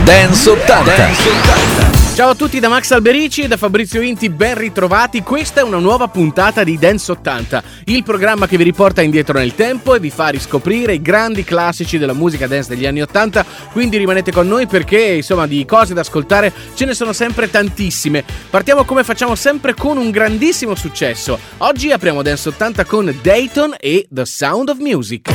Dance 80. Ciao a tutti da Max Alberici e da Fabrizio Inti, ben ritrovati. Questa è una nuova puntata di Dance 80, il programma che vi riporta indietro nel tempo e vi fa riscoprire i grandi classici della musica dance degli anni 80. Quindi rimanete con noi perché insomma di cose da ascoltare ce ne sono sempre tantissime. Partiamo come facciamo sempre con un grandissimo successo. Oggi apriamo Dance 80 con Dayton e The Sound of Music.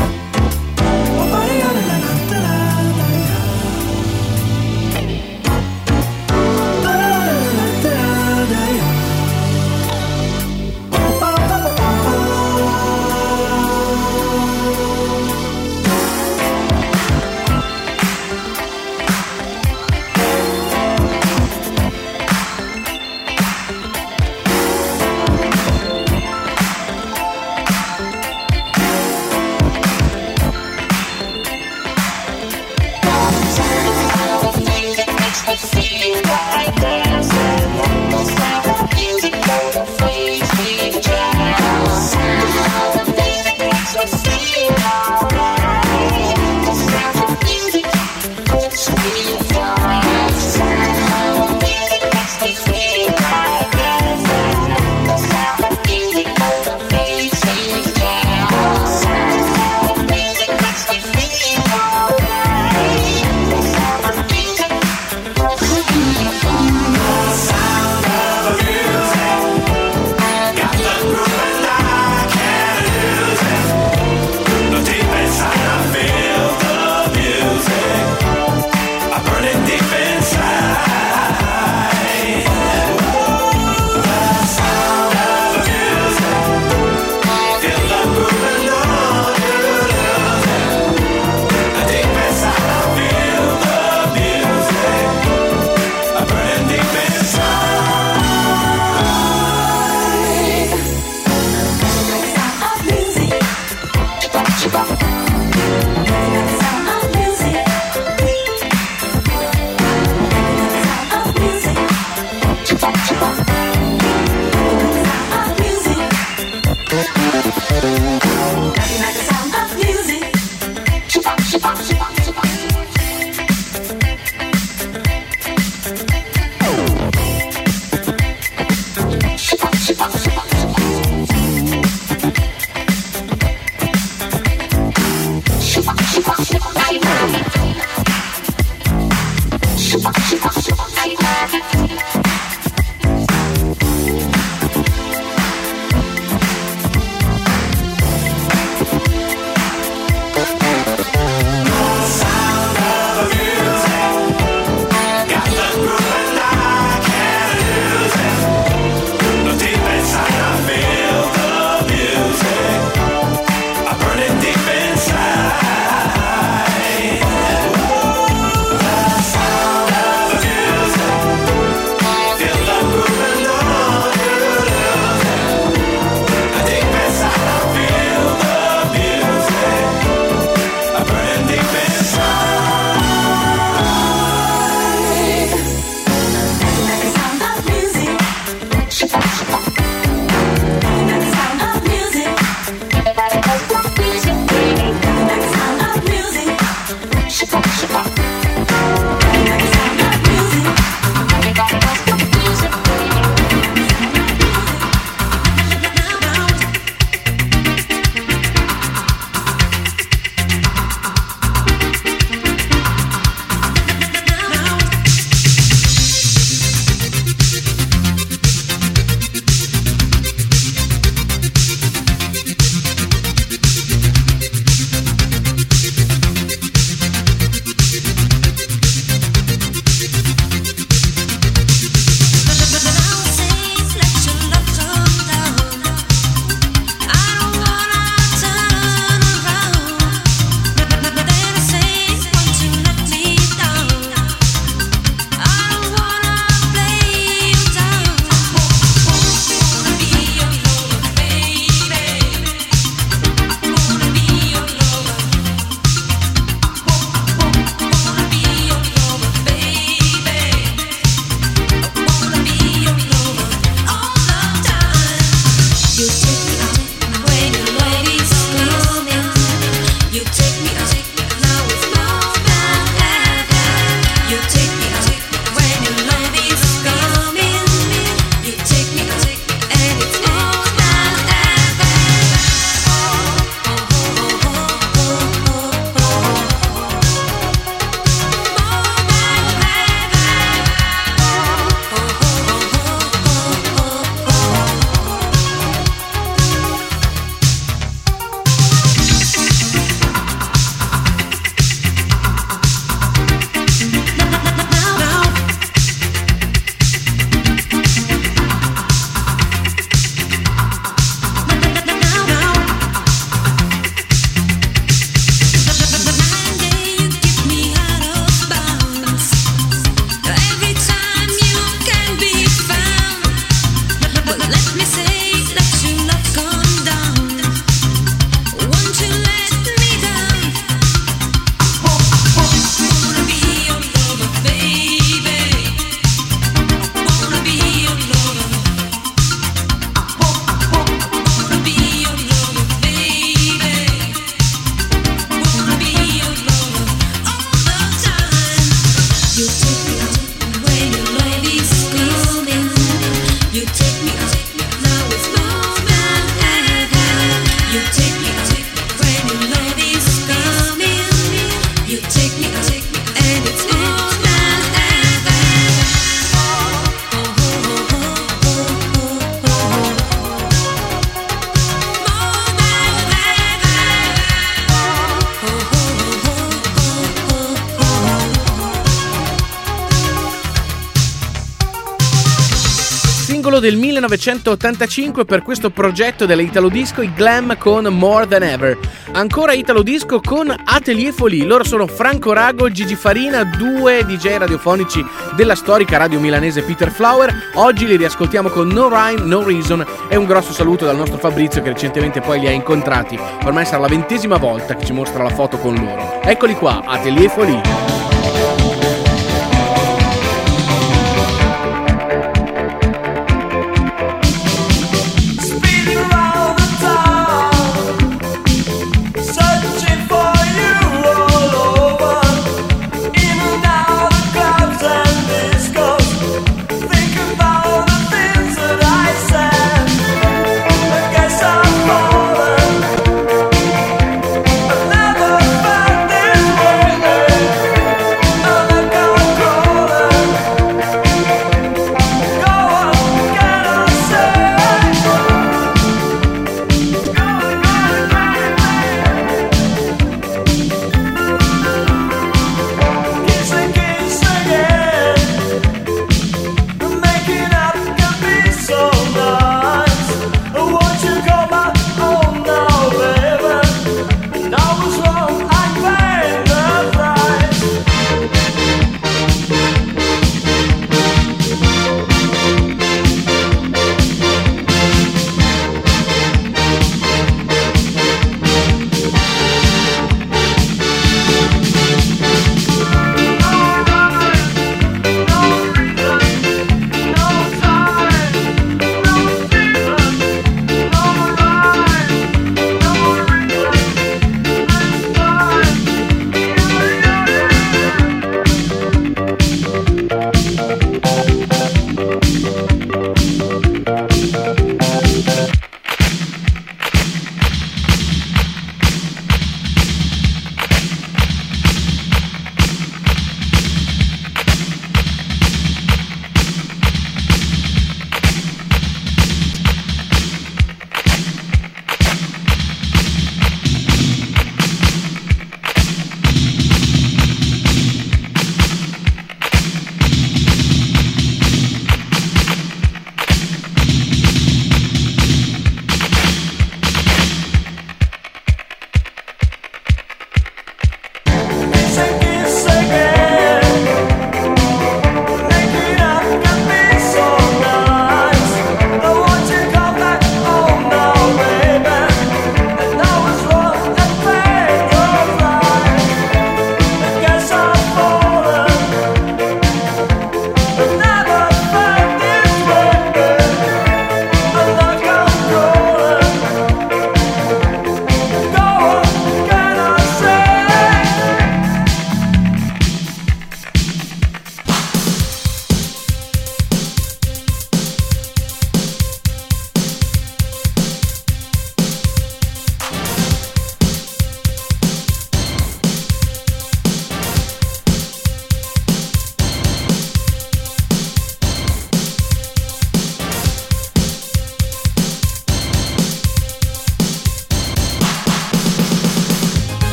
singolo del 1985 per questo progetto dell'Italo Disco, i Glam con More Than Ever. Ancora Italo Disco con Atelier Folie. Loro sono Franco Rago, Gigi Farina, due DJ radiofonici della storica radio milanese Peter Flower. Oggi li riascoltiamo con No Rhyme, No Reason, e un grosso saluto dal nostro Fabrizio che recentemente poi li ha incontrati. Ormai sarà la 20ª volta che ci mostra la foto con loro. Eccoli qua, Atelier Folie.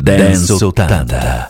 Dance 80.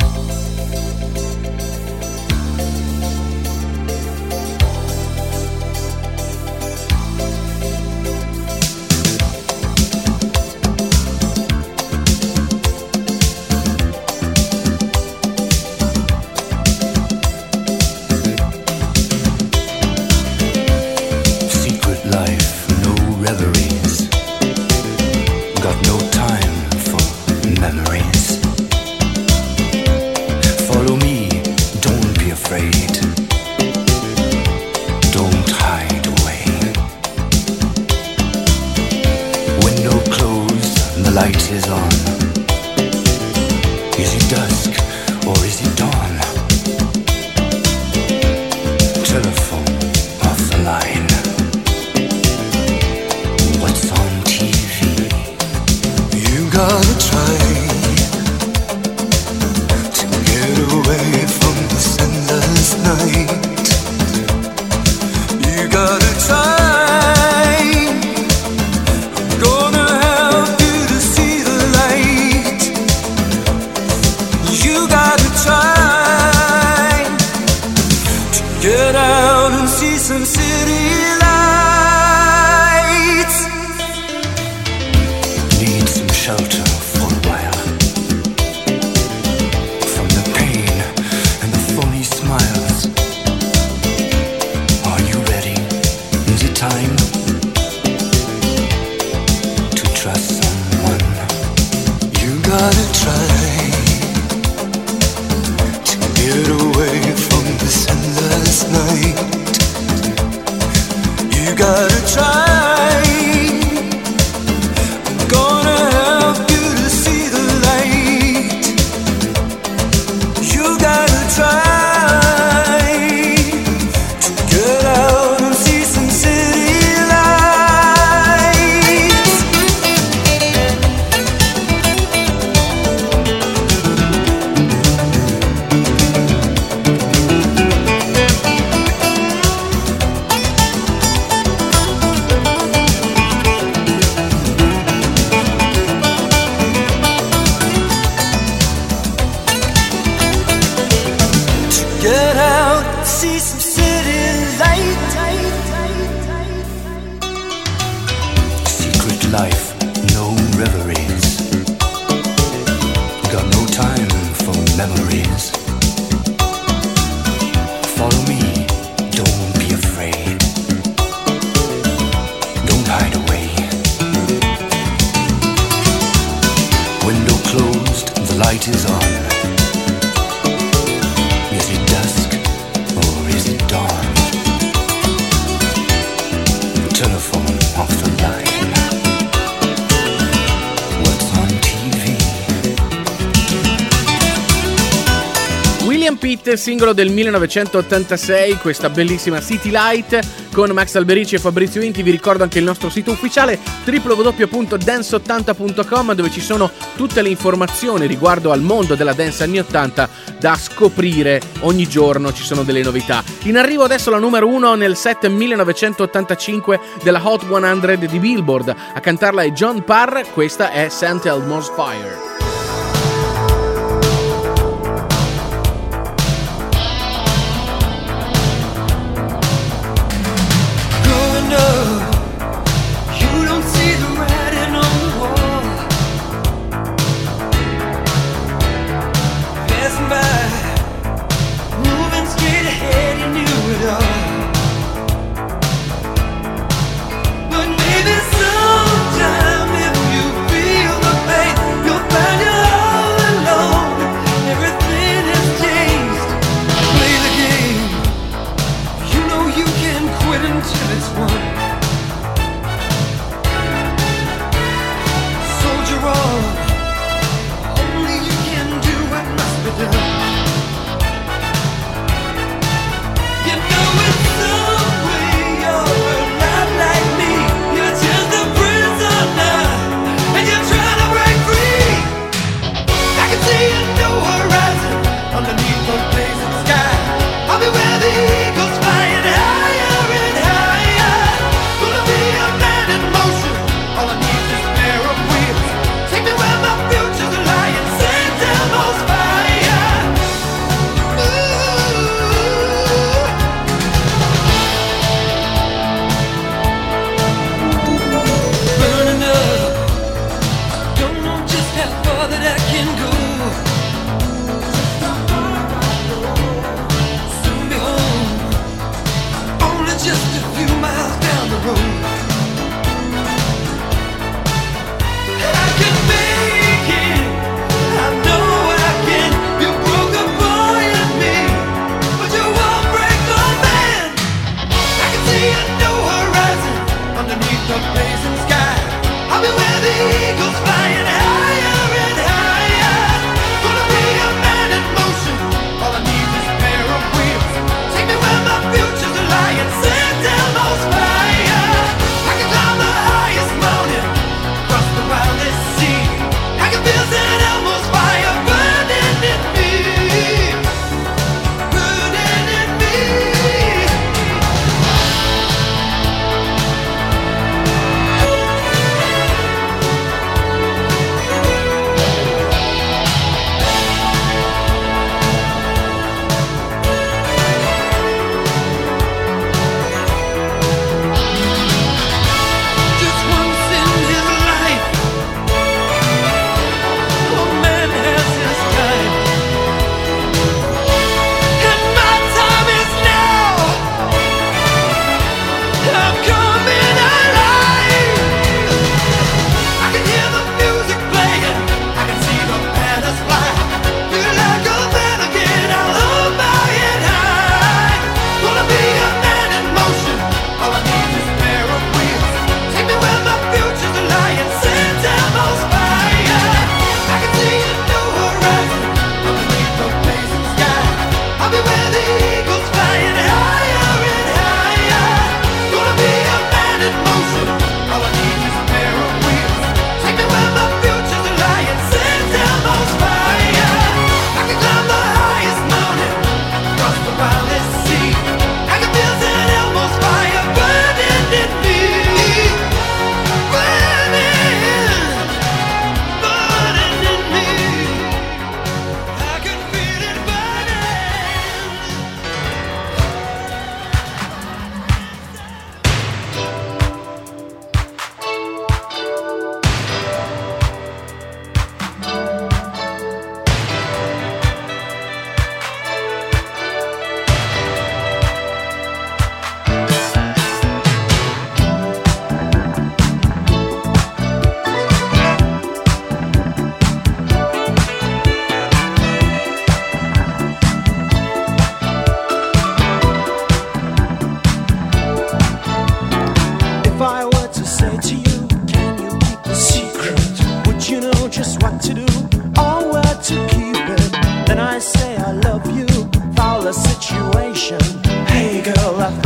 Singolo del 1986, questa bellissima City Light con Max Alberici e Fabrizio Inti. Vi ricordo anche il nostro sito ufficiale www.dance80.com, dove ci sono tutte le informazioni riguardo al mondo della dance anni 80 da scoprire. Ogni giorno ci sono delle novità. In arrivo adesso la numero 1 nel set 1985 della Hot 100 di Billboard. A cantarla è John Parr, questa è St. Elmo's Fire. But maybe sometime if you feel the pain, you'll find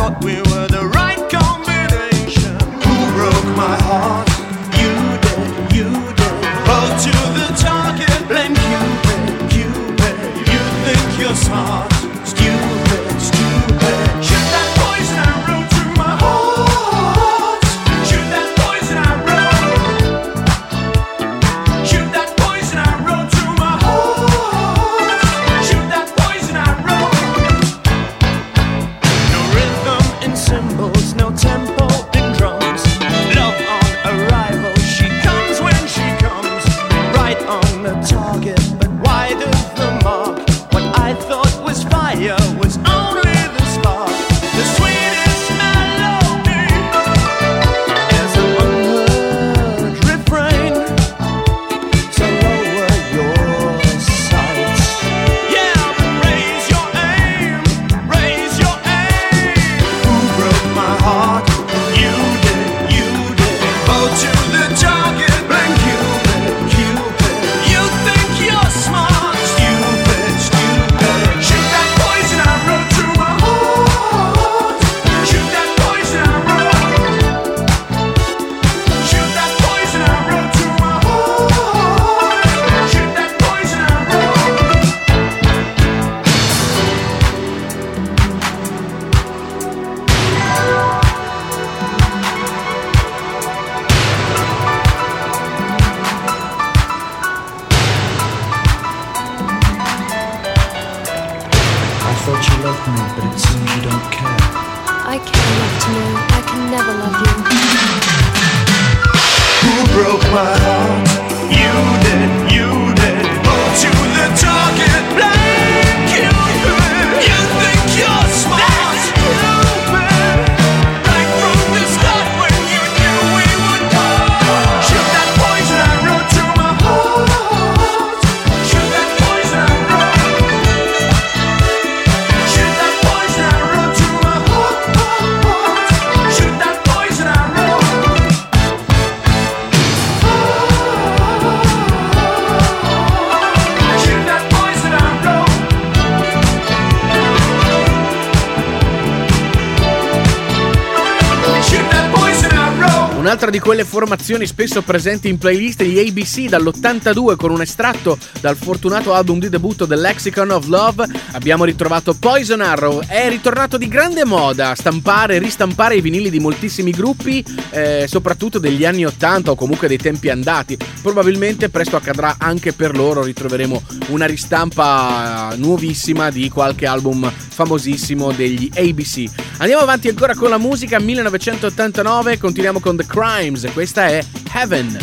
thought we were the right combination. Who broke my heart? You did, you did. Roll to the target, blame Cupid, Cupid. You think you're smart, stupid, stupid. Shoot that poison arrow through my heart. Shoot that poison arrow. Shoot that poison arrow through my heart. Shoot that poison arrow. No rhythm in cymbals, no tempo in drums. Love on arrival, she comes when she comes. Right on the target, but wide of the mark. What I thought was fire was only the spark. The sweetest melody. There's an unheard refrain. So lower your sights. Yeah, but raise your aim. Raise your aim. Who broke my heart? You did, you did. Go to the target, blame Cupid, Cupid. You think you're smart, stupid, stupid. Shoot that poison arrow through my heart. Shoot that poison arrow. Shoot that poison arrow through my heart. Shoot that poison arrow. I thought you loved me, but it seems you don't care. I care enough to know I can never love you. Who broke my heart? You did, you did. Go to the target, blame Cupid. You think you're smart, stupid. Right from the start when you knew we would part. Shoot that poison arrow through my heart. Shoot that poison arrow. Shoot that poison arrow through my heart. Shoot that poison arrow. Shoot that poison arrow. Shoot that poison arrow. Un'altra di quelle formazioni spesso presenti in playlist di ABC dall'82 con un estratto dal fortunato album di debutto The Lexicon of Love. Abbiamo ritrovato Poison Arrow. È ritornato di grande moda stampare e ristampare i vinili di moltissimi gruppi, soprattutto degli anni 80 o comunque dei tempi andati. Probabilmente presto accadrà anche per loro, ritroveremo una ristampa nuovissima di qualche album famosissimo degli ABC. Andiamo avanti ancora con la musica. 1989, continuiamo con The Crimes, questa è Heaven.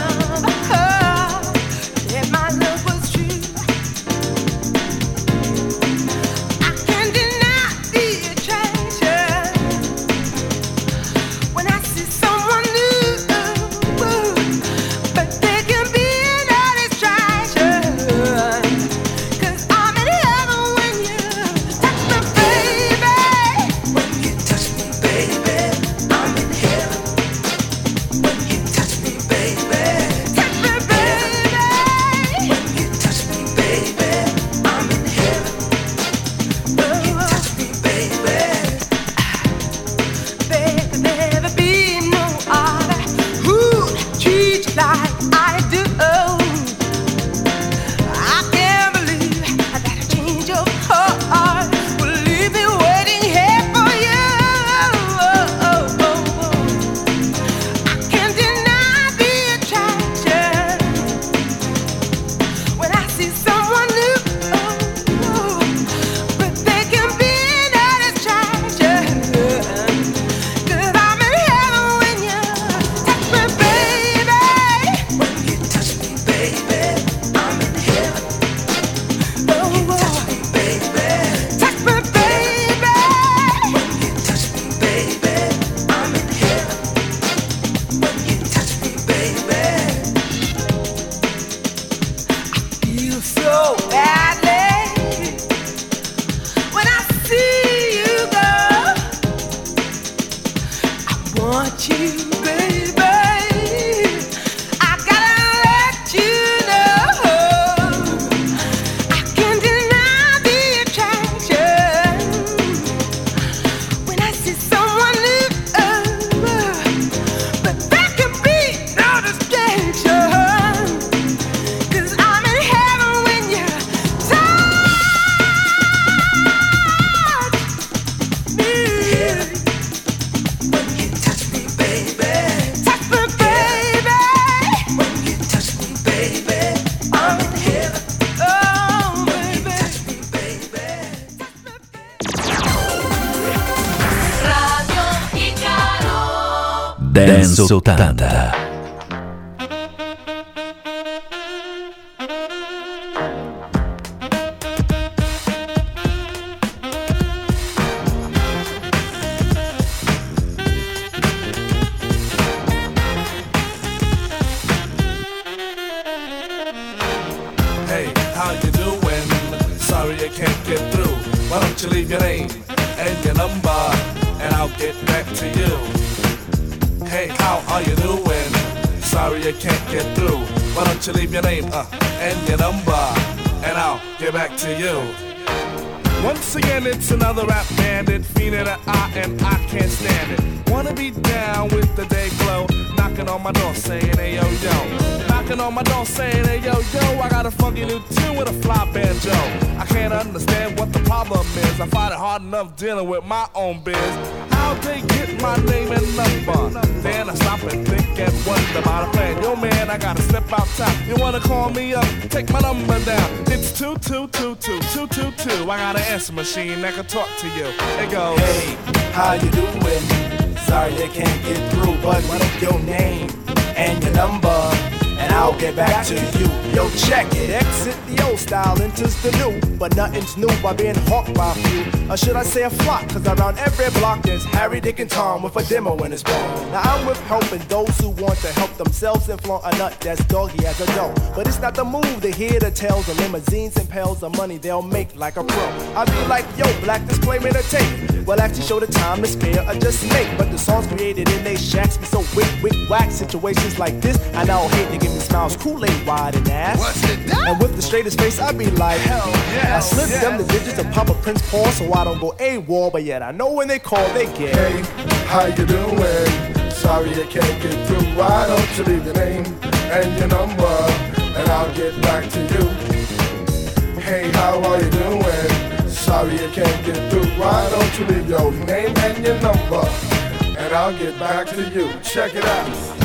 If my love was true, Dance 80. Leave your name and your number, and I'll get back to you. Hey, how are you doing? Sorry I can't get through. Why don't you leave your name and your number, and I'll get back to you. Once again, it's another rap bandit, feeling an eye and I can't stand it. Wanna be down with the day glow, knocking on my door saying, hey yo yo. Knocking on my door saying, hey yo yo, I got a funky new tune with a fly banjo. I can't understand what the problem is. I find it hard enough dealing with my own biz. How'd they get my name and number? Then I stop and think and wonder about a plan. Yo man, I gotta step out top. You wanna call me up? Take my number down. It's 2222222. I got an answer machine that can talk to you. It goes, hey, how you doing? Sorry I can't get through, but what's your name and your number, and I'll get back to you. Yo, check it. Exit the old style, enters the new. But nothing's new by being hawked by a few. Or should I say a flock? Cause around every block there's Harry, Dick, and Tom with a demo in his palm. Now I'm with helping those who want to help themselves and flaunt a nut that's doggy as a dough. But it's not the move to hear the tales of limousines and pails of money they'll make like a pro. I be like, yo, black disclaimer to tape. Well, actually show the time to spare or just make. But the songs created in they shacks be so wick, whack. Situations like this, I now hate to give me smiles, Kool-Aid wide and ass. what's it done? And with the straightest face, I be like, hell yeah. I slip them the digits of Papa Prince Paul so I don't go AWOL. But yet I know when they call, they get. Hey, how you doing? Sorry I can't get through. Why don't you leave your name and your number, and I'll get back to you. Hey, how are you doing? Sorry I can't get through. Why don't you leave your name and your number, and I'll get back to you. Check it out.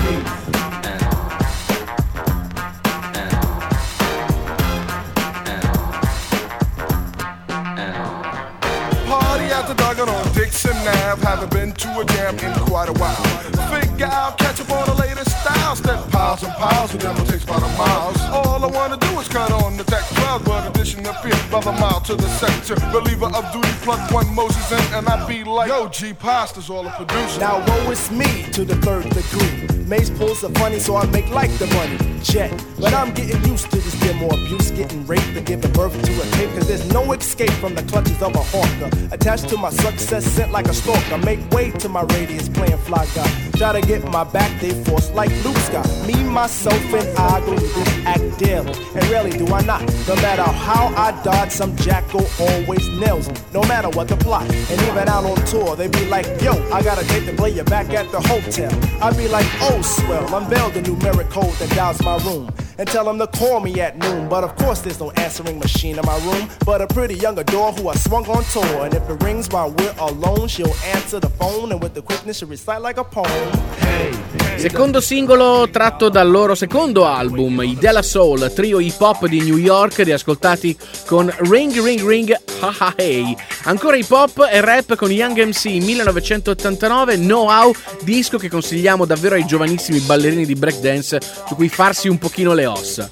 At the Duggan on Dixon Ave, haven't been to a jam in quite a while. Figure I'll catch up on the latest styles. Step piles and piles, and then it takes about a mile. All I wanna do is cut on the tech cloud, but addition appear by the mile to the sector. Reliever of duty, plug one Moses in, and I be like, yo, G Pasta's all a producer. Now woe is me to the third degree. Mace pulls are funny, so I make like the money. Jet, but I'm getting used to this demo abuse, getting raped and giving birth to a tape. Cause there's no escape from the clutches of a hawker. Attached to my success, sent like a stalker. Make way to my radius, playing fly guy. Try to get my back, they force like Luke Scott. Me, myself, and I go to this act daily. And rarely do I not. No matter how I dodge, some jackal always nails me. No matter what the plot. And even out on tour, they be like, yo, I got a date to play you back at the hotel. I be like, oh, swell, unveil the numeric code that dials my room. And tell them to call me at noon. But of course there's no answering machine in my room, but a pretty young adore who I swung on tour. And if it rings while we're alone, she'll answer the phone, and with the quickness she'll recite like a poem. Secondo singolo tratto dal loro secondo album, i De La Soul, trio hip hop di New York, riascoltati con Ring Ring Ring Ha Ha Hey. Ancora hip hop e rap con Young MC 1989, Know How, disco che consigliamo davvero ai giovanissimi ballerini di breakdance su cui farsi un pochino le ossa.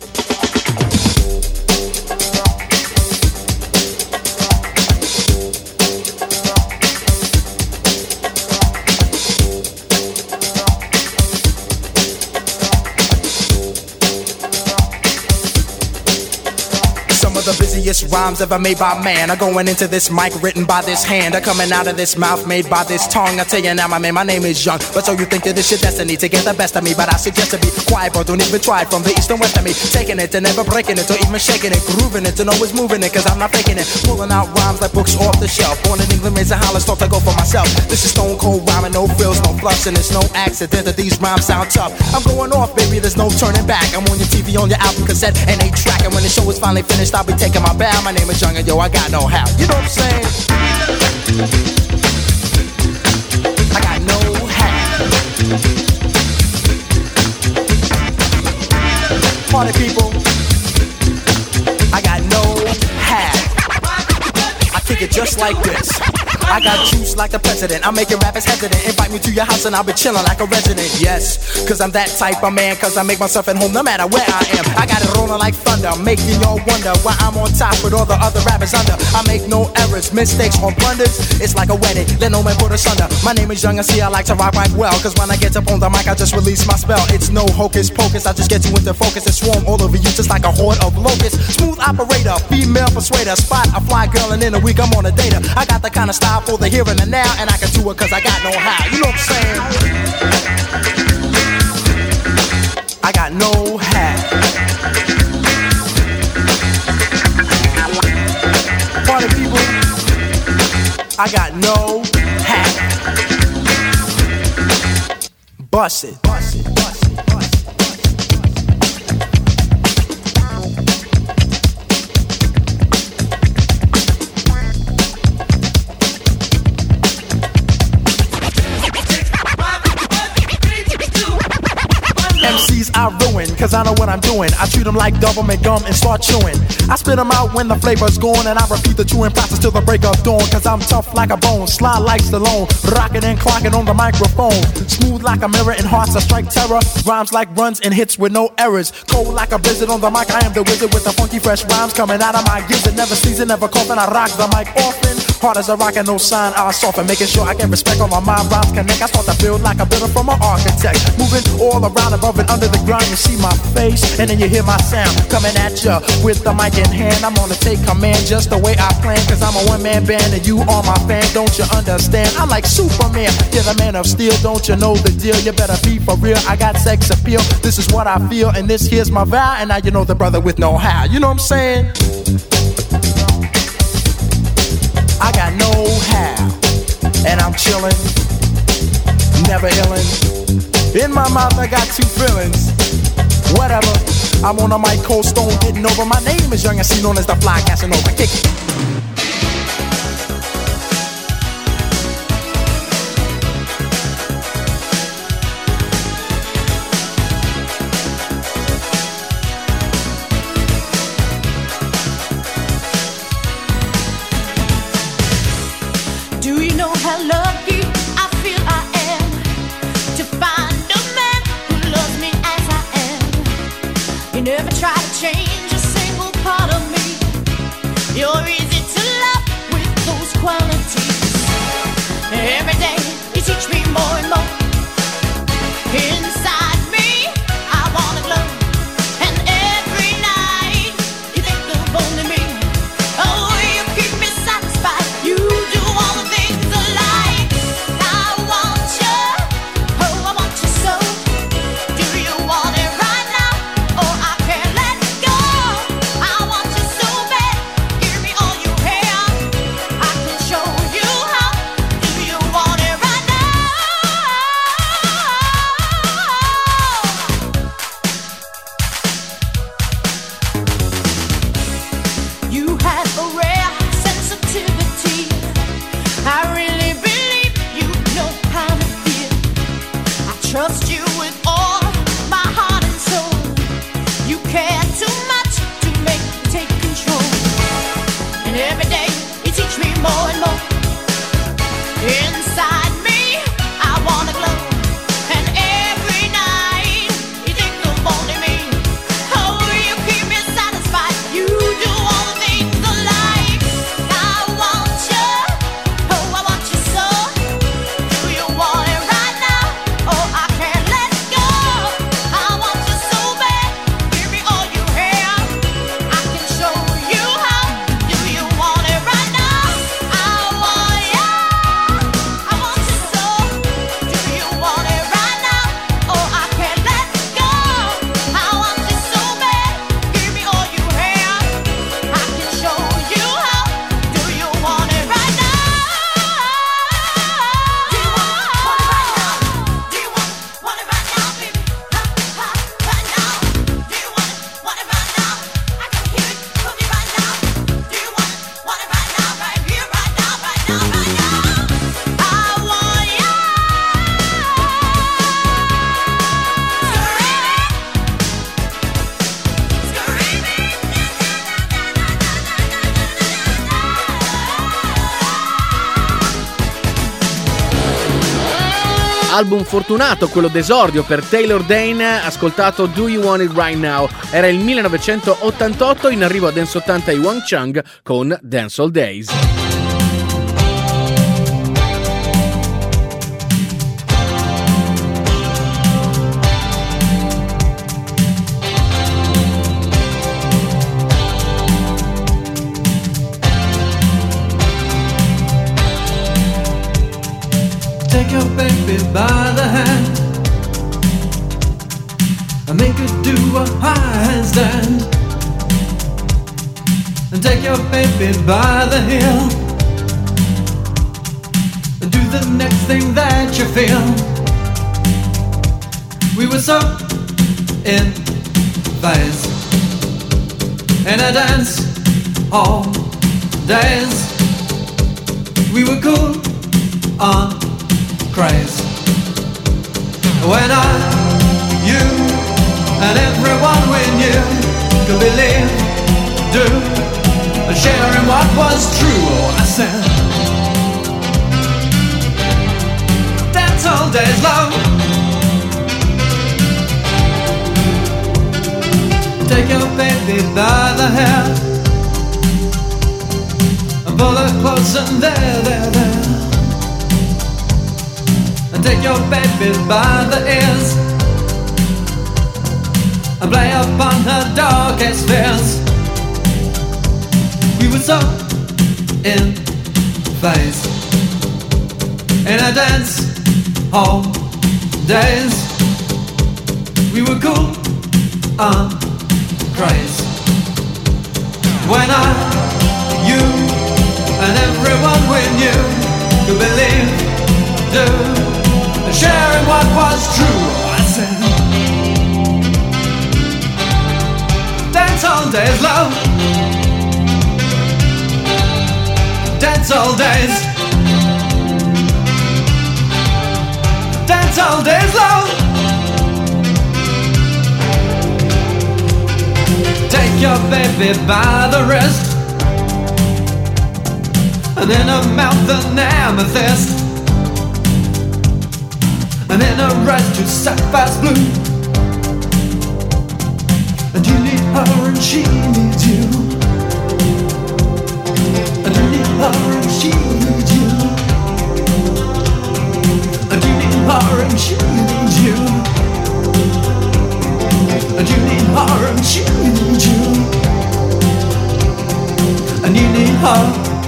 The busiest rhymes ever made by man are going into this mic written by this hand, are coming out of this mouth made by this tongue. I tell you now, my man, my name is Young. But so you think that it's your destiny to get the best of me, but I suggest to be quiet, bro. Don't even try it. From the east and west of me, taking it and never breaking it, or even shaking it, grooving it and always moving it, cause I'm not faking it. Pulling out rhymes like books off the shelf. Born in England, raised in Holland, start to go for myself. This is stone cold rhyming, no frills, no fluffs, and it's no accident that these rhymes sound tough. I'm going off, baby, there's no turning back. I'm on your TV, on your album cassette, and 8-track. And when the show is finally finished, I'll be taking my bow. My name is Young and yo, I got no how. You know what I'm saying? I got no how. Party people, I got no how. I kick it just like this. I got juice like the president. I'm making rappers hesitant. Invite me to your house and I'll be chilling like a resident. Yes, cause I'm that type of man. Cause I make myself at home no matter where I am. I got it rolling like thunder, making y'all wonder why I'm on top with all the other rappers under. I make no errors, mistakes or blunders. It's like a wedding, let no man put us under. My name is Young and see I like to rock right well. Cause when I get up on the mic I just release my spell. It's no hocus pocus, I just get you into focus and swarm all over you just like a horde of locusts. Smooth operator, female persuader. Spot a fly girl and in a week I'm on a data. I got the kind of style for the here and the now. And I can do it cause I got no how. You know what I'm saying? I got no how. Party people, I got no hat. Bust it, bust it, bust it, bust it. MCs I ruin, cause I know what I'm doing. I treat them like government gum and start chewing. I spit them out when the flavor's gone, and I repeat the chewing process till the break of dawn. Cause I'm tough like a bone, sly like Stallone, rocking and clocking on the microphone. Smooth like a mirror and hearts that strike terror. Rhymes like runs and hits with no errors. Cold like a blizzard on the mic, I am the wizard with the funky fresh rhymes coming out of my gizzard. Never season, never coughing, I rock the mic often. Hard as a rock and no sign, I'll soften. Making sure I get respect on my mind, rhymes connect. I start to build like a builder from an architect. Moving all around above and under the ground, you see my face, and then you hear my sound coming at ya with the mic in hand. I'm gonna take command just the way I plan, cause I'm a one-man band and you are my fan. Don't you understand? I'm like Superman, you're the man of steel. Don't you know the deal? You better be for real. I got sex appeal, this is what I feel, and this here's my vow. And now you know the brother with no how. You know what I'm saying? I got no how, and I'm chillin', never illin'. In my mouth I got two feelings. Whatever, I'm on a mic, cold stone, getting over. My name is Young and C, known as the Fly Casanova. Kick it. Do you know how lucky I feel I am to find a man who loves me as I am? You never try to change a single part of me. You're easy to love with those qualities. Every day you teach me more and more. Inside me I wanna glow, and every night you think of only me. Oh, you keep me satisfied. You do all the things I like. I want you, oh I want you so. Do you want it right now? Oh, I can't let go. I want you so bad. Give me all you have. I can show you how. Do you want it right now? Album fortunato, quello d'esordio per Taylor Dayne, ascoltato Do You Want It Right Now. Era il 1988, in arrivo a Dance 80 i Wang Chung con Dance All Days. Take your baby by the hand and make her do a handstand. And take your baby by the heel and do the next thing that you feel. We were so in phase in a dance all days. We were cool on craze. When I, you, and everyone we knew could believe, do, and sharing what was true. Oh, I said, dance all days long. Take your baby by the hair and pull her close and there. And take your baby by the ears and play upon her darkest fears. We were so in phase in a dance hall days. We were cool on craze. When I, you, and everyone we knew could believe, do, sharing what was true. I said, dance all days, love. Dance all days. Dance all days, love. Take your baby by the wrist and in her mouth an amethyst. And in her eyes to sapphire's blue. And you need her and she needs you. And you need her and she needs you. And you need her and she needs you. And you need her and she needs you. And you need her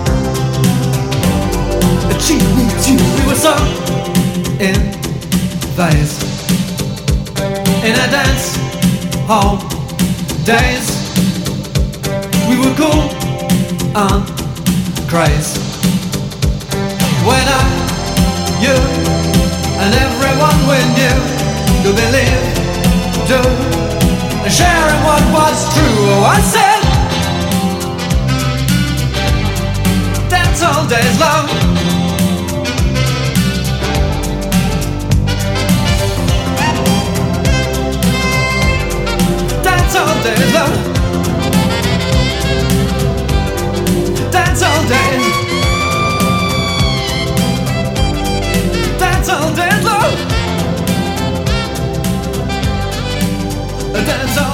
and she needs you. We were so in phase in a dance hall days. We were cool on craze. When I, you, and everyone we knew could believe, do, and sharing what was true. Oh, I said, dance all days, love. Dance all days, love. Dance all days. Dance all days, love. Dance all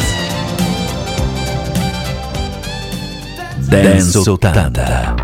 days. Dance 80.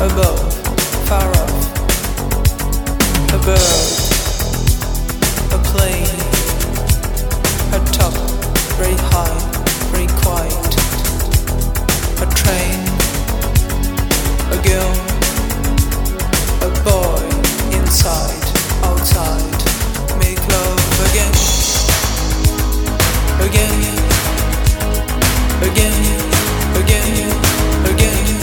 above, far off, a bird, a plane, a top, very high, very quiet, a train, a girl, a boy, inside, outside, make love again, again, again, again, again.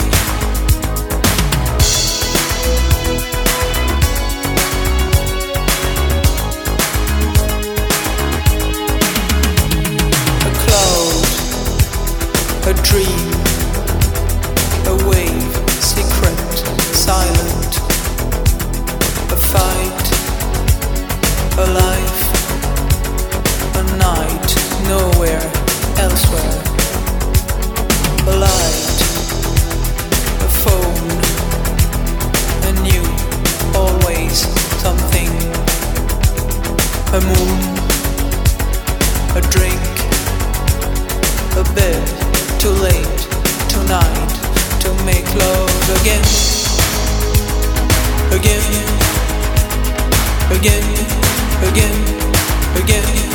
A cloud, a dream, a wave, secret, silent, a fight, a life, a night, nowhere, elsewhere, a light, a phone, a new, always something, a moon, a drink, a bed, too late, tonight, to make love again, again, again, again, again.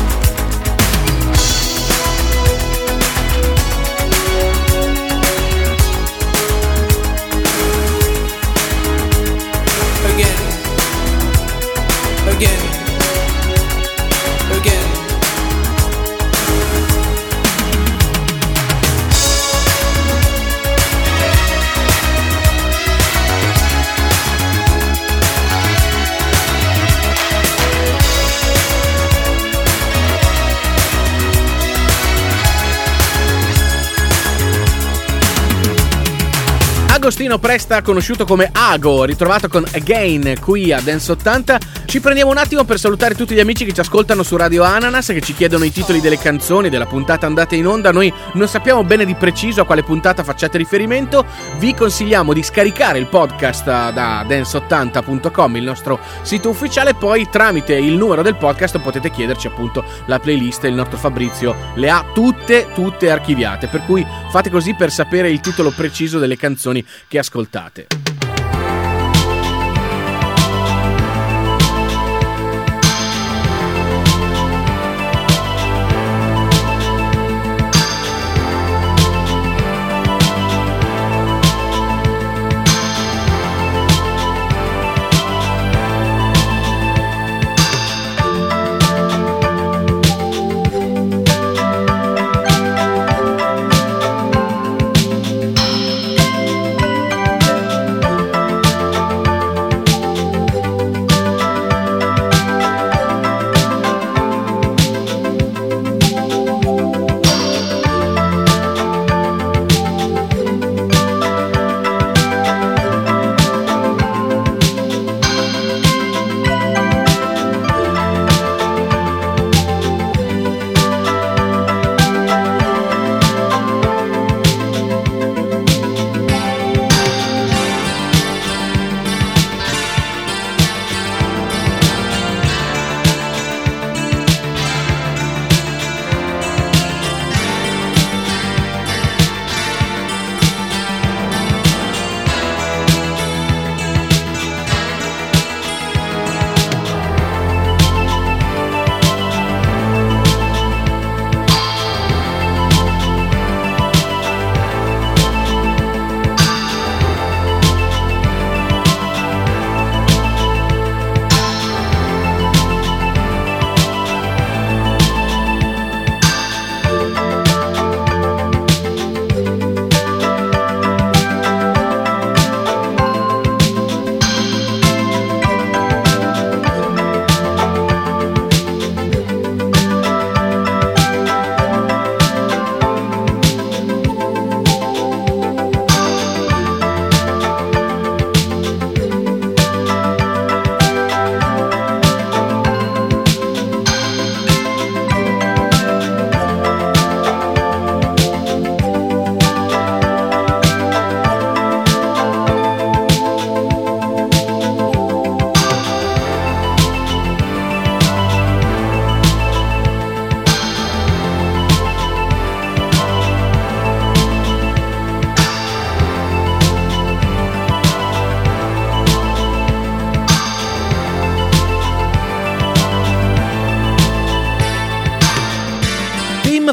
Again, again. Agostino Presta, conosciuto come Ago, ritrovato con Again qui a Dance 80. Ci prendiamo un attimo per salutare tutti gli amici che ci ascoltano su Radio Ananas, che ci chiedono i titoli delle canzoni della puntata andate in onda. Noi non sappiamo bene di preciso a quale puntata facciate riferimento. Vi consigliamo di scaricare il podcast da dance80.com, il nostro sito ufficiale. Poi tramite il numero del podcast potete chiederci appunto la playlist. Il nostro Fabrizio le ha tutte archiviate, per cui fate così per sapere il titolo preciso delle canzoni che ascoltate.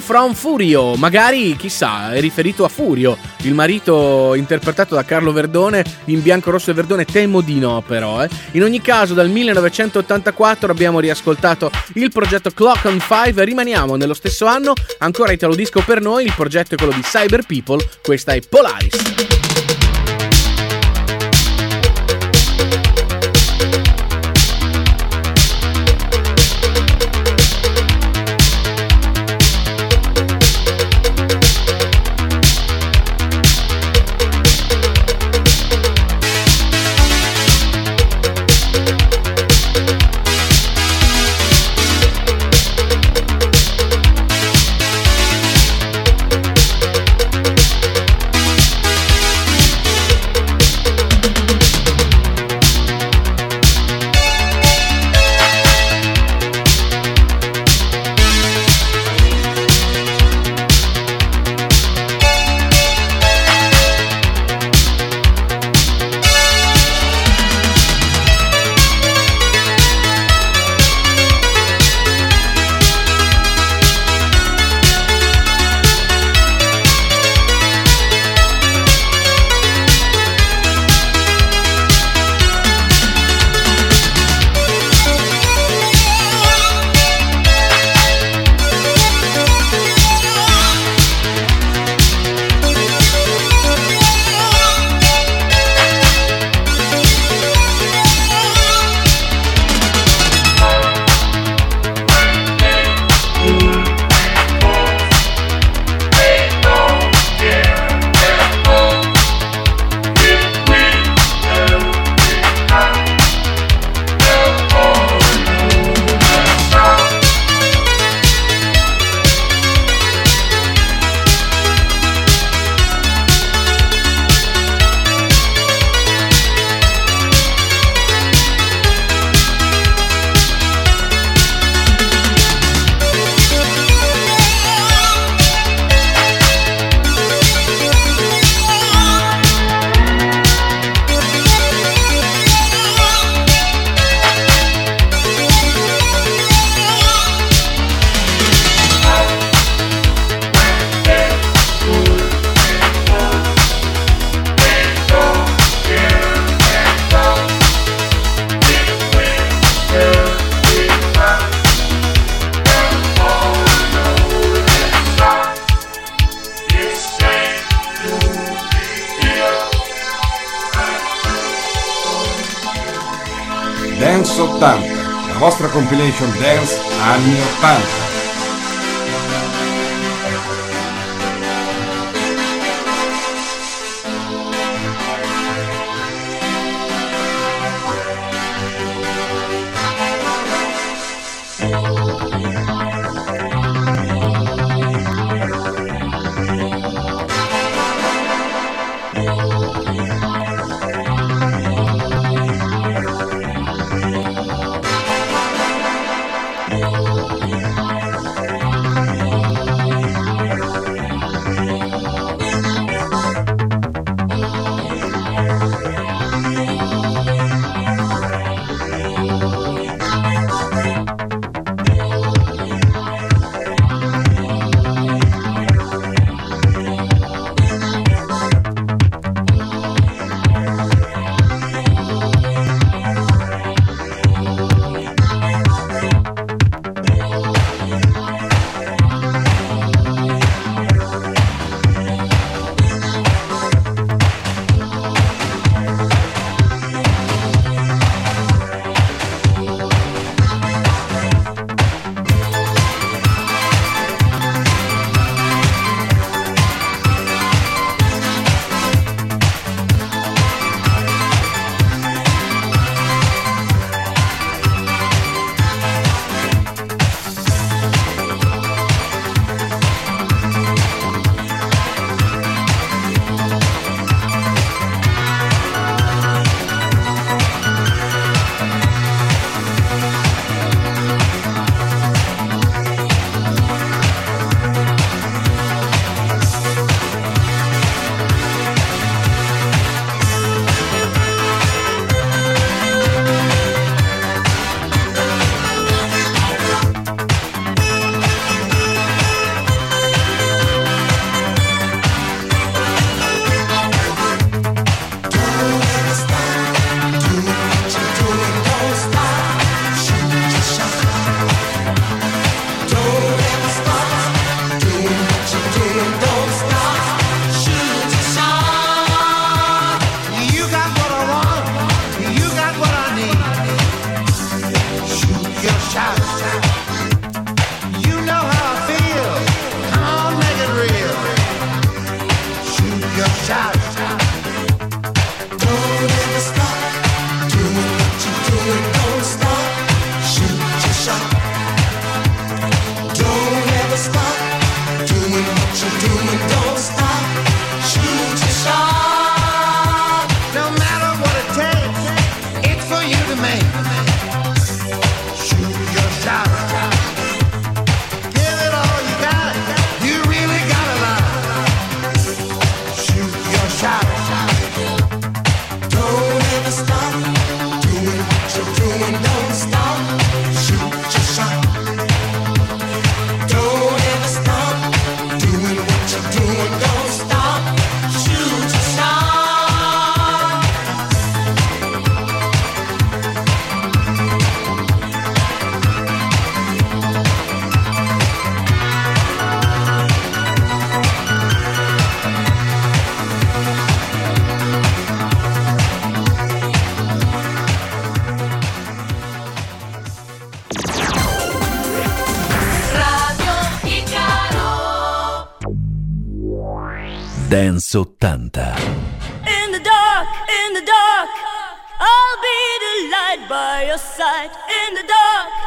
from Furio, magari chissà è riferito a Furio, il marito interpretato da Carlo Verdone in Bianco, Rosso e Verdone. Temo di no però. In ogni caso dal 1984 abbiamo riascoltato il progetto Clock on 5, rimaniamo nello stesso anno, ancora Italo Disco per noi, il progetto è quello di Cyber People, questa è Polaris. Dance 80, la vostra compilation dance anni 80. Dance 80. In the dark, I'll be the light by your side. In the dark.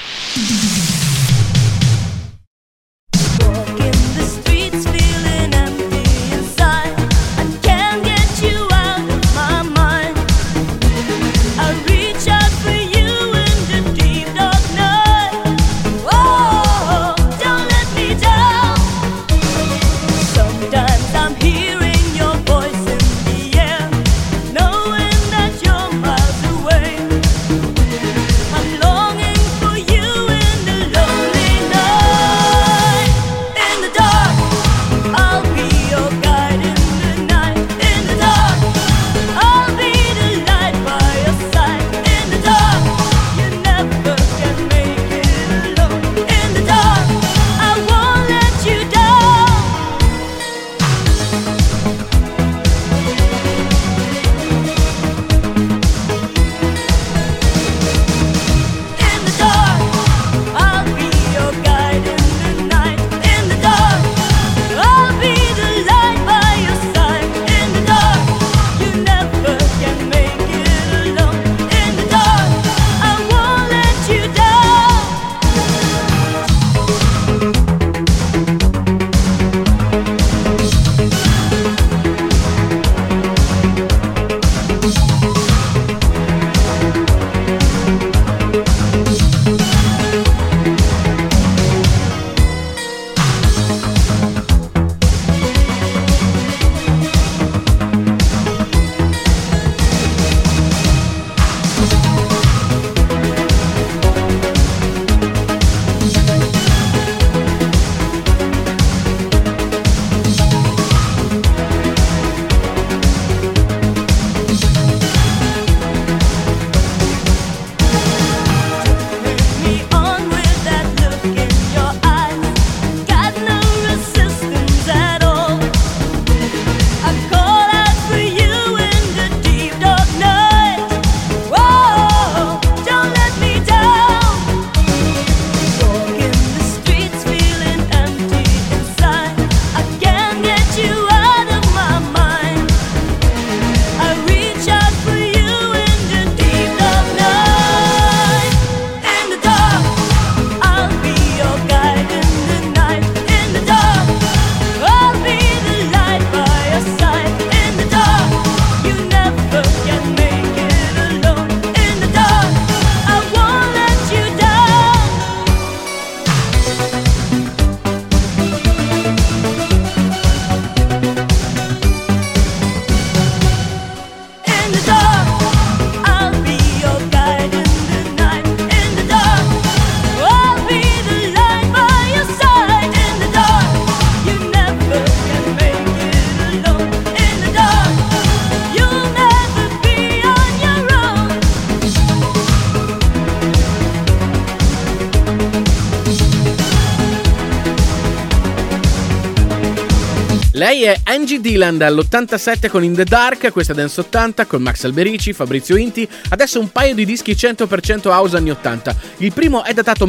Lei è Angie Dillon dall'87 con In the Dark, questa è Dance 80 con Max Alberici, Fabrizio Inti. Adesso un paio di dischi 100% house anni 80. Il primo è datato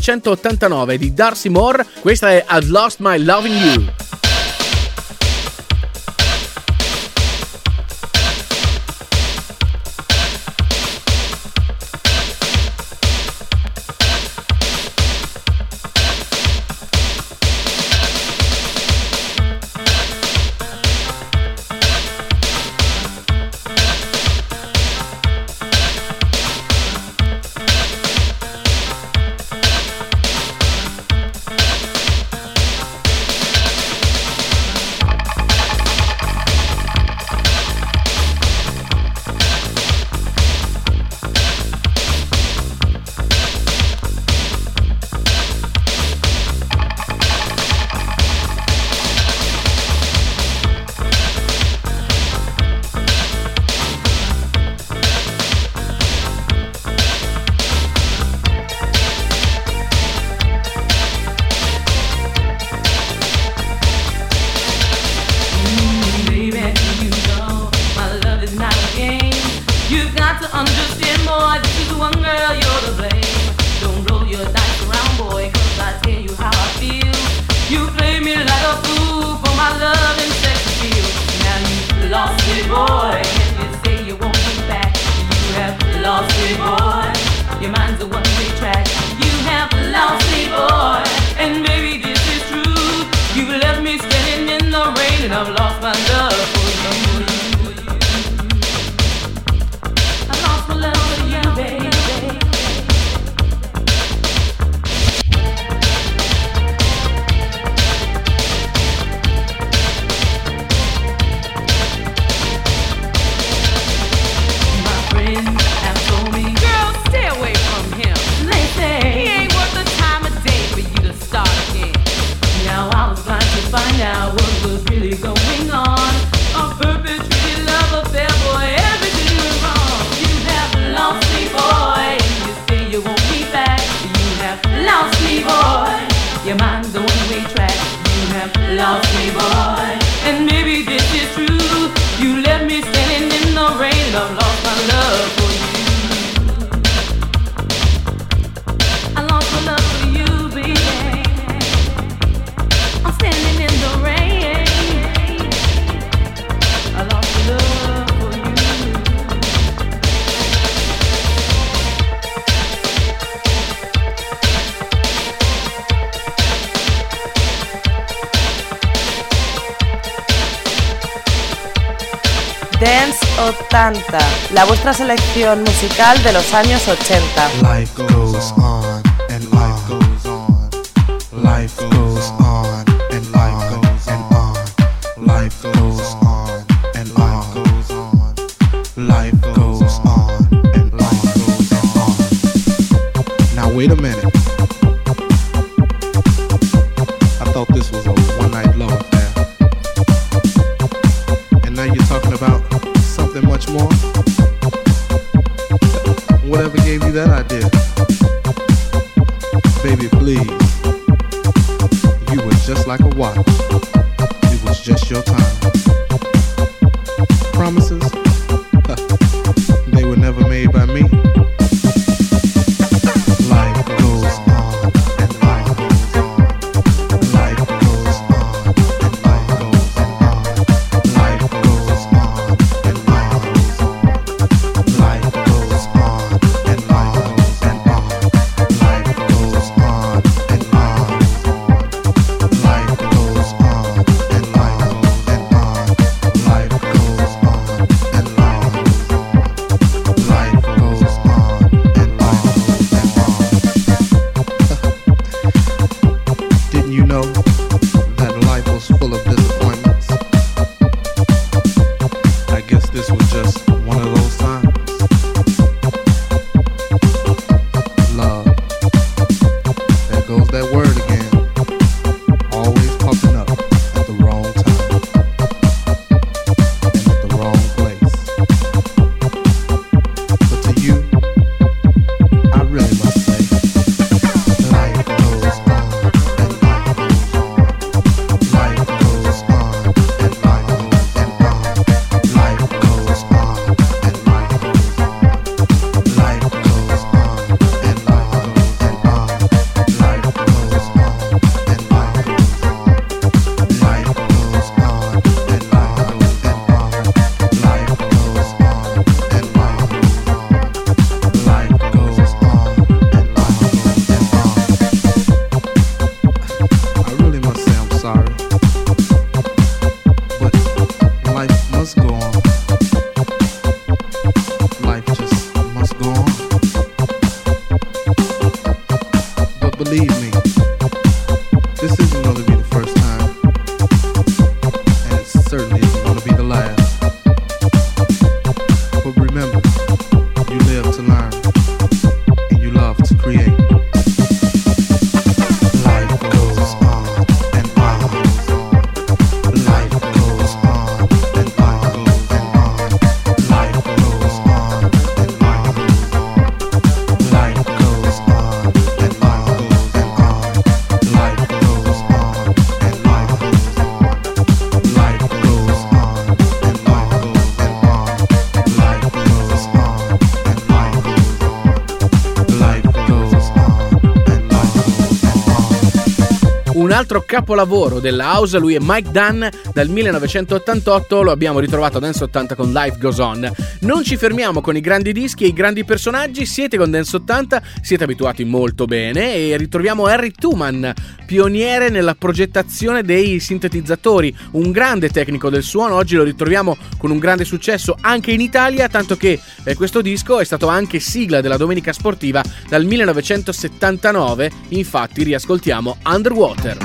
1989 di Darcy Moore, questa è I've Lost My Loving You. You play me like a fool for my love and sex appeal. boy, and you say you won't be back. You have lost me, boy. Your mind's a one-way track. You have lost me, boy, and maybe this is true. You left me standing in the rain, and I've lost my love for you. I lost my love for you, baby. Find out what was really going on. A perpetrated love affair, boy, everything went wrong. You have lost me, boy, and you say you won't be back. You have lost me, boy. Your mind's a one-way track. You have lost me, boy, and maybe this is true. You left me standing in the rain, and I've lost my love for you. I lost my love for you, baby. Standing in the rain, I lost love for you. Dance 80, la vuestra selección musical de los años 80. Life goes on and life goes on. Life goes on. Life goes on and life goes on. Life goes on and life goes on. Now wait a minute. I thought this was a one-night love affair, and now you're talking about something much more. Whatever gave you that idea? Baby, please. You were just like a watch. Was just your time. Promises? They were never made by me. Life goes on and life goes on. Life goes on and life goes on. Life goes on and life goes on. Life goes on and life goes on. Life goes on and life goes on. Life goes on. un altro capolavoro della house, lui è Mike Dunn, dal 1988, lo abbiamo ritrovato Dance 80 con Life Goes On. Non ci fermiamo con i grandi dischi e i grandi personaggi, siete con Dance 80, siete abituati molto bene e ritroviamo Harry Tuman, pioniere nella progettazione dei sintetizzatori, un grande tecnico del suono. Oggi lo ritroviamo con un grande successo anche in Italia, tanto che questo disco è stato anche sigla della Domenica Sportiva dal 1979, infatti riascoltiamo Underwater.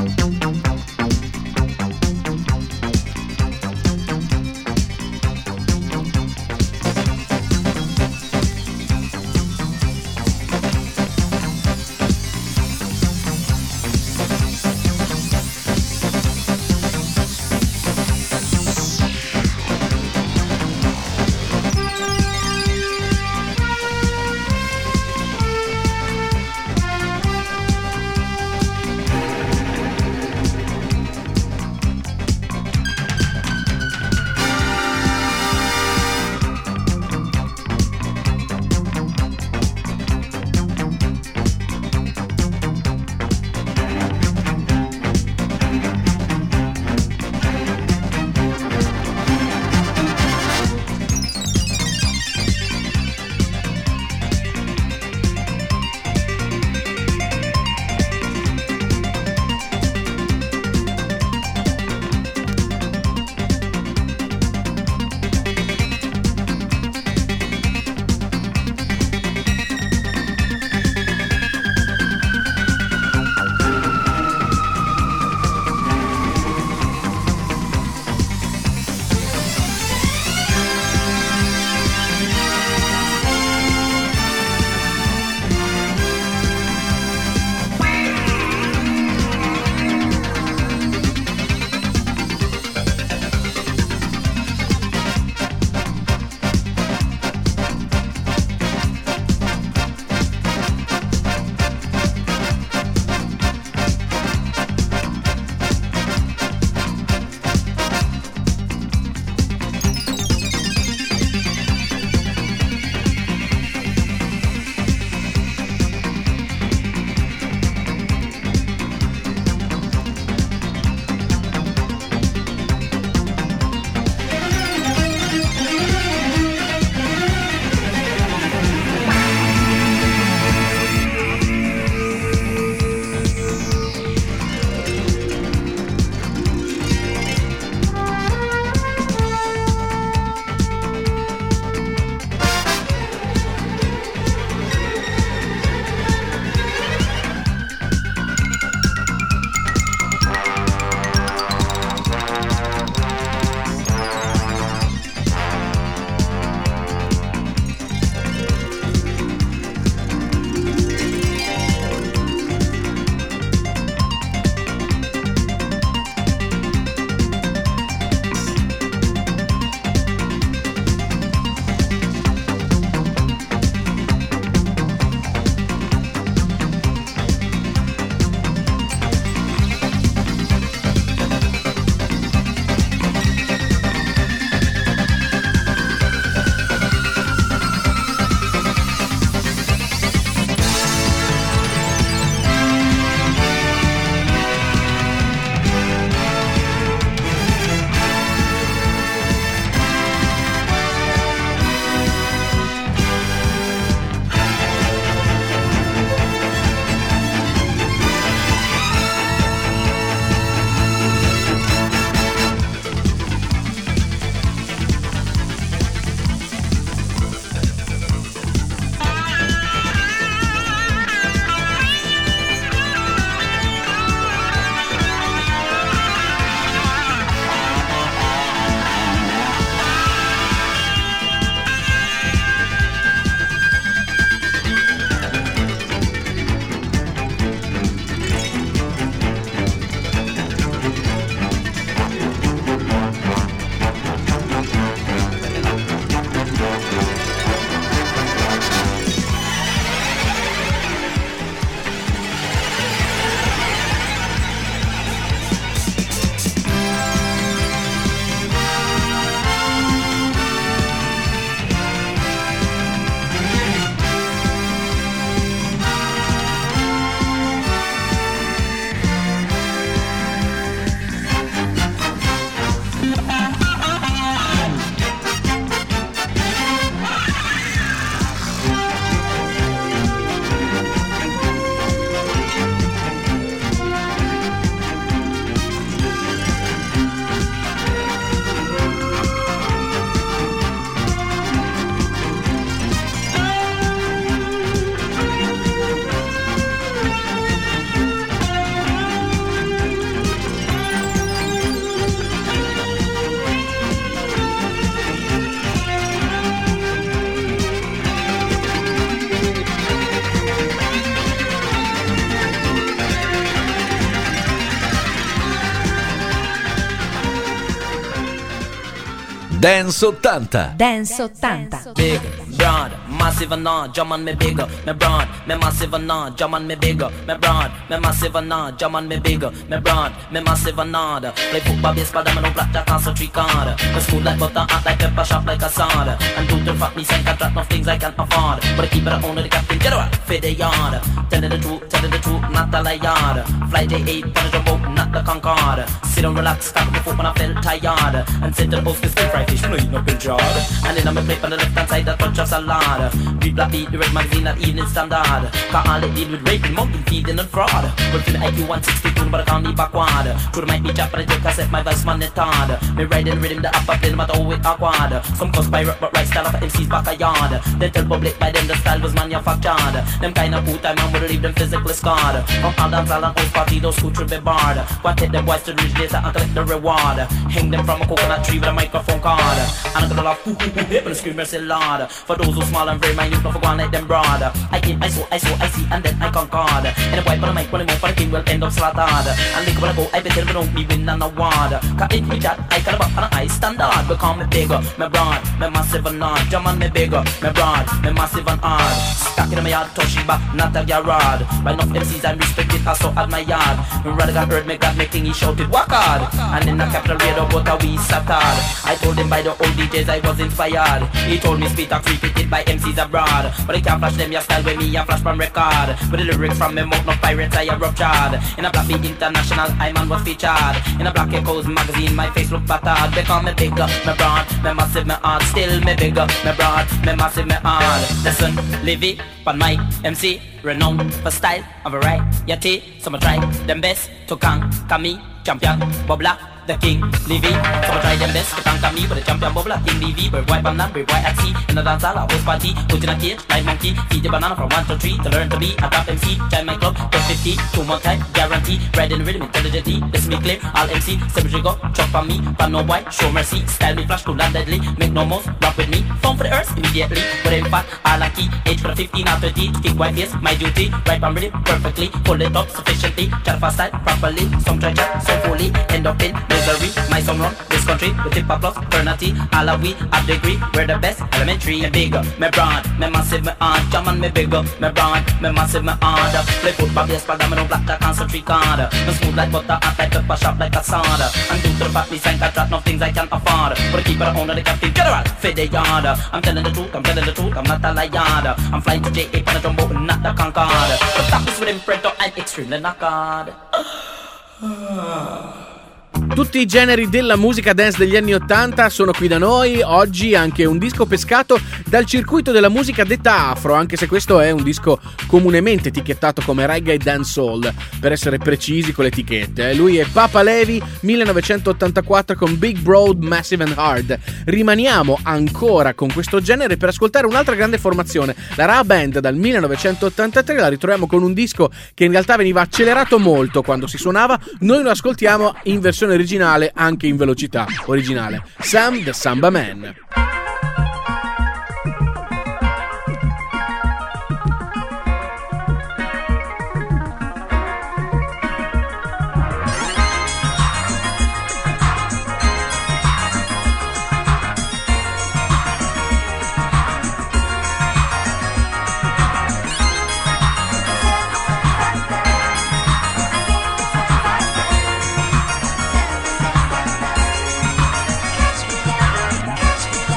Dance 80. Dance 80. Big, broad, massive and not, jump on me bigger. Me broad, me massive and not, jump on me bigger. Me broad, me massive and not, jump on me bigger. Me broad, me massive and not. Play football, baseball, domino, blackjack, and tree card. Me smooth like butter, hot like pepper, sharp like a sword. And do the fuck me, sign contract, no things I can't afford. But I keep it on the captain general, fit the yard. Telling the truth, not the liar. Fly J8, punish the boat, not the Concorde. Sit and relax, stop the foot when I felt tired. And sit to the post, stir fry fish, fleeing up in jar. And then I'm a plate on the left hand side, that touch of salad. Read Black Beat, the Red Magazine, that Evening Standard. Cause all it deal with raping, monkey feeding and fraud. But for the IQ 162, but I can't be backward. Through the mic be chap, but I take cassette, my voice man, it's hard. Me riding rhythm, the upper play, no matter how it awkward. Some cause pirate, but right style of MC's back a yard. They tell public by them the style was manufactured. Them kind of cool time, man, would leave them physically scarred. From all dance, all and house party, those who should be barred. Go and take them boys to the ridge later and collect the reward. Hang them from a coconut tree with a microphone card. And I'm gonna laugh, hoo hoo hoo, hip and scream and say lord. For those who small and very minute, don't forget like them broad. I came, I saw, I see, and then I conquered. And the white on the mic, when I move, for the king will end up slaughtered. And think when I go, I bet they don't me win an award. Cause it me that, I cut about an high standard. Become me bigger, me broad, me massive and hard. Jump on me bigger, me broad, me massive and hard. Stuck in my yard, Toshiba, not a garage. By enough MCs I respected, I so admired. When Radical heard me, God making he shouted, walk hard. And in the capital radio, but we sattered. I told him by the old DJs I was inspired. He told me speed talk repeated by MCs abroad. But I can't flash them your style with me and flash from record. With the lyrics from me mouth, no pirates I ruptured. In a Black Beat International, I man was featured. In a Black Echoes magazine, my face look battered. They call me bigger, me broad, me massive, me hard. Still me bigger, me broad, me massive, me hard. Listen, Livy, pan mic, MC, renowned for style and variety. Some try them best to conquer me. Champion, Bobla, the king, Livy. Some try them best to conquer me, but the champion Bobla, King Livy. Bird white, banana, bird white at sea. In the dance hall, I host party. Put in a cage, like monkey. Feed the banana from 1 to 3 to learn to be a top MC. Join my club, get 50, 2 more time, guarantee. Riding rhythm intelligently, this me clear. All MC, cemetery go, chop on me. But no white, show mercy. Style me flash, cool and deadly. Make no moves, rock with me. Phone for the earth immediately. But in fact, all a key. Age for the 15 or 30. To kick white face, my duty. Right on rhythm, perfectly. Pull it up sufficiently. Chat fast style, properly. Some try chat, so fully. End up in misery. My song run this country with hip hop plus fraternity. All of we at degree, we're the best. Elementary, me bigger, me broad, me massive, me hard. Jump on me bigger, me broad, me massive, me hard. Play football, baseball, domino, blackjack, and tree card. Me smooth like butter, hot like pepper, sharp like a sword. And do to the fact me sign contract, no things I can't afford. But I keep it on the captain general, fit the yard. I'm telling the truth, I'm telling the truth, I'm not a liar. I'm flying to J8 on a jumbo, not the Concorde. But stop this with imprint, I'm extremely knackered. Tutti i generi della musica dance degli anni 80 sono qui da noi. Oggi anche un disco pescato dal circuito della musica detta afro, anche se questo è un disco comunemente etichettato come reggae e dancehall, per essere precisi con le etichette. Lui è Papa Levi, 1984 con Big Broad, Massive and Hard. Rimaniamo ancora con questo genere per ascoltare un'altra grande formazione, la Ra Band dal 1983. La ritroviamo con un disco che in realtà veniva accelerato molto quando si suonava. Noi lo ascoltiamo in versione originale, anche in velocità originale. Sam the Samba Man. Catch me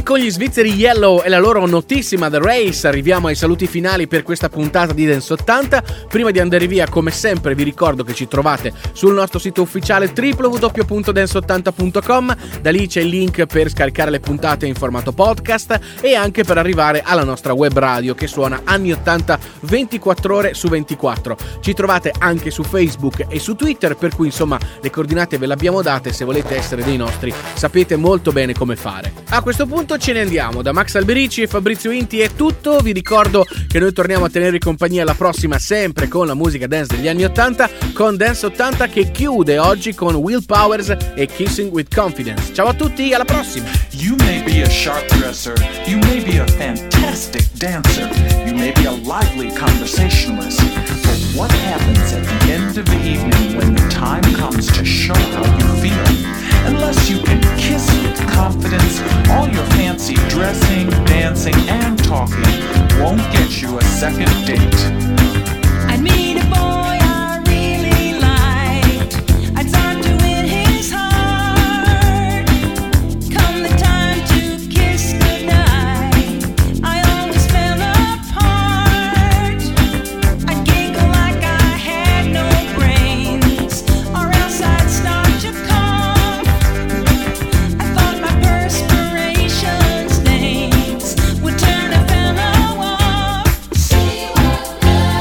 con gli svizzeri Yellow e la loro notissima The Race arriviamo ai saluti finali per questa puntata di Dance 80. Prima di andare via, come sempre, vi ricordo che ci trovate sul nostro sito ufficiale www.dance80.com. Da lì c'è il link per scaricare le puntate in formato podcast e anche per arrivare alla nostra web radio che suona anni 80 24 ore su 24. Ci trovate anche su Facebook e su Twitter, per cui insomma le coordinate ve le abbiamo date. Se volete essere dei nostri sapete molto bene come fare. A questo punto ce ne andiamo. Da Max Alberici e Fabrizio Inti è tutto. Vi ricordo che noi torniamo a tenere compagnia la prossima, sempre con la musica dance degli anni 80, con Dance 80 che chiude oggi con Will Powers e Kissing with Confidence. Ciao a tutti, alla prossima. You may be a sharp dresser, you may be a fantastic dancer, you may be a lively conversationalist, but what happens at the end of the evening when the time comes to show how you feel? Unless you can kiss with confidence, all your fancy dressing, dancing, and talking won't get you a second date. I'd meet a boy I really liked. I'd start to win his heart. Come the time to kiss goodnight, I always fell apart. I'd giggle like I had no brains, or else I'd start to cough. I thought my perspiration stains would turn a fellow off. She was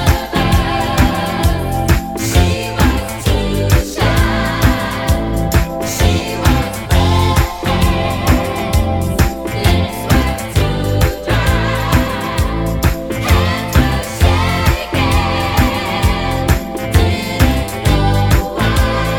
nervous, she was too shy, she was breathless, lips were too dry, hands were shaking, didn't know why.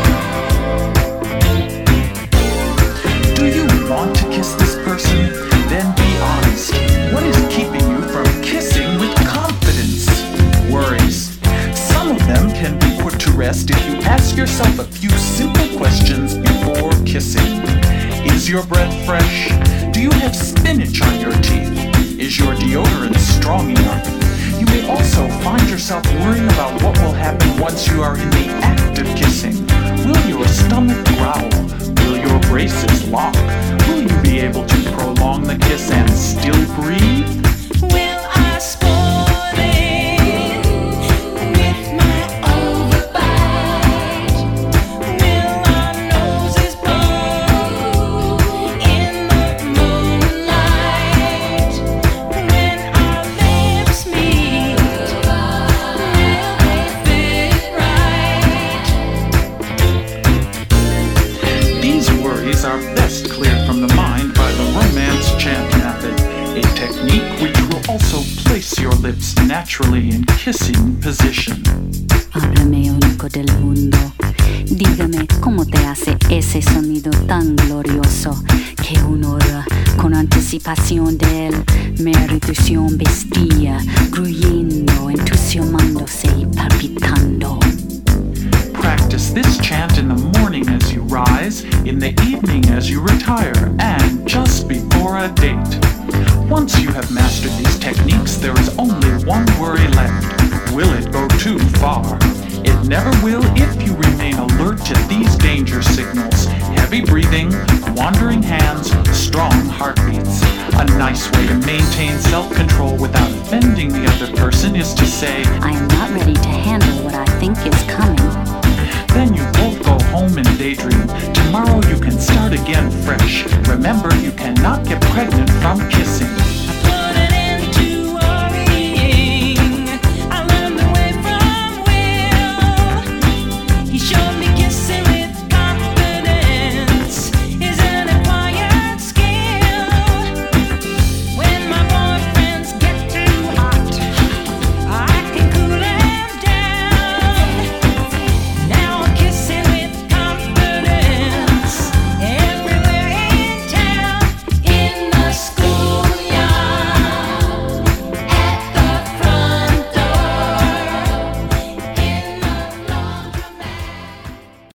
Do you want to kiss this person? Then be honest. What is keeping you from kissing with confidence? Worries. Some of them can be put to rest if you ask yourself a few simple questions before kissing. Is your breath fresh? Do you have spinach on your teeth? Is your deodorant strong enough? You may also find yourself worrying about what will happen once you are in the act of kissing. Will your stomach growl? Will your braces lock? Will you be able to prolong the kiss and still breathe? Will I spoil it with my overbite? Will our noses blow in the moonlight? When our lips meet, will they fit right? These worries are best cleared from the mind by the romance chant method, a technique which will also place your lips naturally in kissing position. Háblame único del mundo, dígame cómo te hace ese sonido tan glorioso que uno ora con anticipación de él, meritación vestía, gruyendo, entusiasmándose y palpitando. Practice this chant in the morning as you rise, in the evening as you retire, and just before a date. Once you have mastered these techniques, there is only one worry left. Will it go too far? It never will if you remain alert to these danger signals: heavy breathing, wandering hands, strong heartbeats. A nice way to maintain self-control without offending the other person is to say, I am not ready to handle what I think is coming. Then you both go home and daydream. Tomorrow you can start again fresh. Remember, you cannot get pregnant from kissing.